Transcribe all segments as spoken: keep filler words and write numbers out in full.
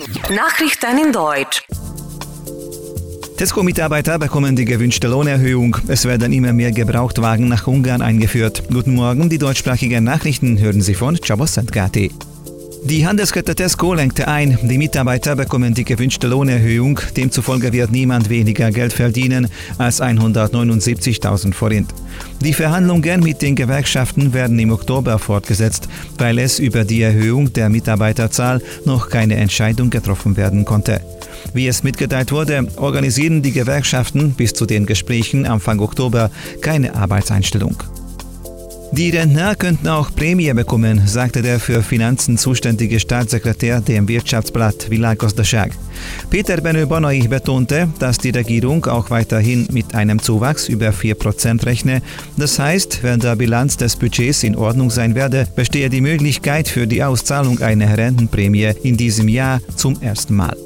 Nachrichten in Deutsch. Tesco-Mitarbeiter bekommen die gewünschte Lohnerhöhung. Es werden immer mehr Gebrauchtwagen nach Ungarn eingeführt. Guten Morgen, die deutschsprachigen Nachrichten hören Sie von Csaba Szentgáti. Die Handelskette Tesco lenkte ein, die Mitarbeiter bekommen die gewünschte Lohnerhöhung, demzufolge wird niemand weniger Geld verdienen als hundertneunundsiebzigtausend Forint. Die Verhandlungen mit den Gewerkschaften werden im Oktober fortgesetzt, weil es über die Erhöhung der Mitarbeiterzahl noch keine Entscheidung getroffen werden konnte. Wie es mitgeteilt wurde, organisieren die Gewerkschaften bis zu den Gesprächen Anfang Oktober keine Arbeitseinstellung. Die Rentner könnten auch Prämie bekommen, sagte der für Finanzen zuständige Staatssekretär dem Wirtschaftsblatt Világgazdaság. Peter Benő Banai betonte, dass die Regierung auch weiterhin mit einem Zuwachs über vier Prozent rechne. Das heißt, wenn der Bilanz des Budgets in Ordnung sein werde, bestehe die Möglichkeit für die Auszahlung einer Rentenprämie in diesem Jahr zum ersten Mal.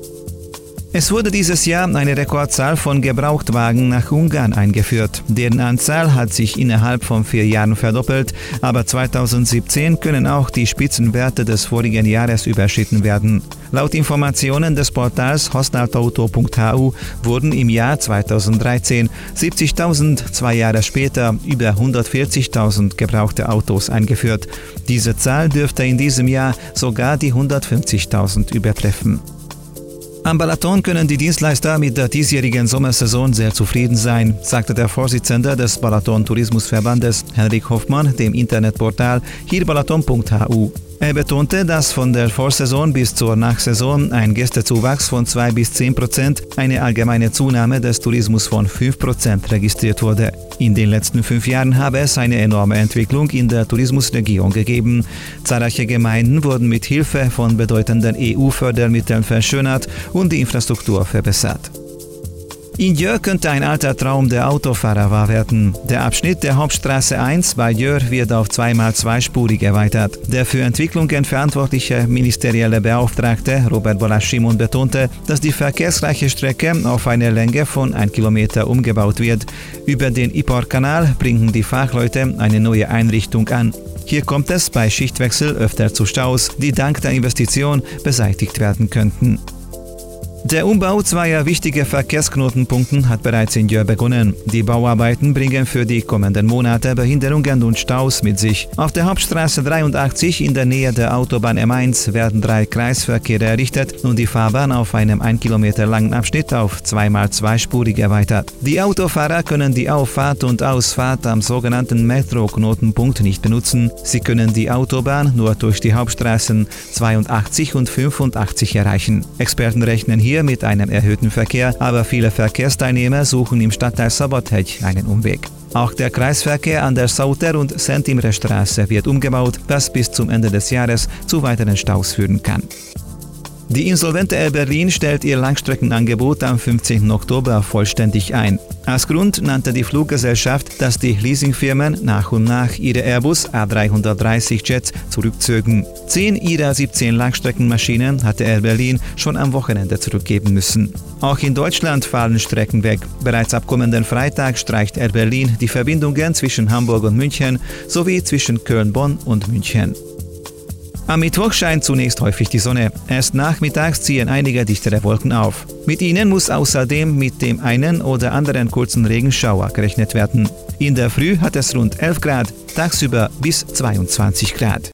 Es wurde dieses Jahr eine Rekordzahl von Gebrauchtwagen nach Ungarn eingeführt. Deren Anzahl hat sich innerhalb von vier Jahren verdoppelt, aber zweitausendsiebzehn können auch die Spitzenwerte des vorigen Jahres überschritten werden. Laut Informationen des Portals használt-autó punkt h u wurden im Jahr zweitausenddreizehn siebzigtausend, zwei Jahre später über hundertvierzigtausend gebrauchte Autos eingeführt. Diese Zahl dürfte in diesem Jahr sogar die hundertfünfzigtausend übertreffen. Am Balaton können die Dienstleister mit der diesjährigen Sommersaison sehr zufrieden sein, sagte der Vorsitzende des Balaton-Tourismusverbandes Henrik Hoffmann dem Internetportal hírbalaton punkt h u. Er betonte, dass von der Vorsaison bis zur Nachsaison ein Gästezuwachs von zwei bis zehn Prozent, eine allgemeine Zunahme des Tourismus von fünf Prozent registriert wurde. In den letzten fünf Jahren habe es eine enorme Entwicklung in der Tourismusregion gegeben. Zahlreiche Gemeinden wurden mit Hilfe von bedeutenden E U-Fördermitteln verschönert und die Infrastruktur verbessert. In Győr könnte ein alter Traum der Autofahrer wahr werden. Der Abschnitt der Hauptstraße eins bei Győr wird auf zweimal zweispurig erweitert. Der für Entwicklungen verantwortliche ministerielle Beauftragte Robert Balázs Simon betonte, dass die verkehrsreiche Strecke auf eine Länge von ein Kilometer umgebaut wird. Über den Iparkanal bringen die Fachleute eine neue Einrichtung an. Hier kommt es bei Schichtwechsel öfter zu Staus, die dank der Investition beseitigt werden könnten. Der Umbau zweier wichtiger Verkehrsknotenpunkte hat bereits in Győr begonnen. Die Bauarbeiten bringen für die kommenden Monate Behinderungen und Staus mit sich. Auf der Hauptstraße dreiundachtzig in der Nähe der Autobahn M eins werden drei Kreisverkehre errichtet und die Fahrbahn auf einem ein Kilometer langen Abschnitt auf zweimal zweispurig erweitert. Die Autofahrer können die Auffahrt und Ausfahrt am sogenannten Metro-Knotenpunkt nicht benutzen. Sie können die Autobahn nur durch die Hauptstraßen zweiundachtzig und fünfundachtzig erreichen. Experten rechnen hier Hier mit einem erhöhten Verkehr, aber viele Verkehrsteilnehmer suchen im Stadtteil Szabadhegy einen Umweg. Auch der Kreisverkehr an der Sauter- und Szent Imre Straße wird umgebaut, was bis zum Ende des Jahres zu weiteren Staus führen kann. Die insolvente Air Berlin stellt ihr Langstreckenangebot am fünfzehnten Oktober vollständig ein. Als Grund nannte die Fluggesellschaft, dass die Leasingfirmen nach und nach ihre Airbus A dreihundertdreißig Jets zurückzögen. Zehn ihrer siebzehn Langstreckenmaschinen hatte Air Berlin schon am Wochenende zurückgeben müssen. Auch in Deutschland fallen Strecken weg. Bereits ab kommenden Freitag streicht Air Berlin die Verbindungen zwischen Hamburg und München sowie zwischen Köln, Bonn und München. Am Mittwoch scheint zunächst häufig die Sonne. Erst nachmittags ziehen einige dichtere Wolken auf. Mit ihnen muss außerdem mit dem einen oder anderen kurzen Regenschauer gerechnet werden. In der Früh hat es rund elf Grad, tagsüber bis zweiundzwanzig Grad.